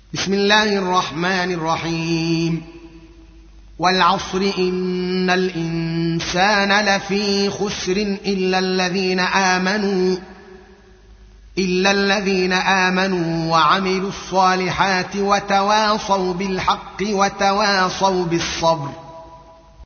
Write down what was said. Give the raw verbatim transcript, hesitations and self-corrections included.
بسم الله الرحمن الرحيم والعصر إن الإنسان لفي خسر إلا الذين آمنوا إلا الذين آمنوا وعملوا الصالحات وتواصوا بالحق وتواصوا بالصبر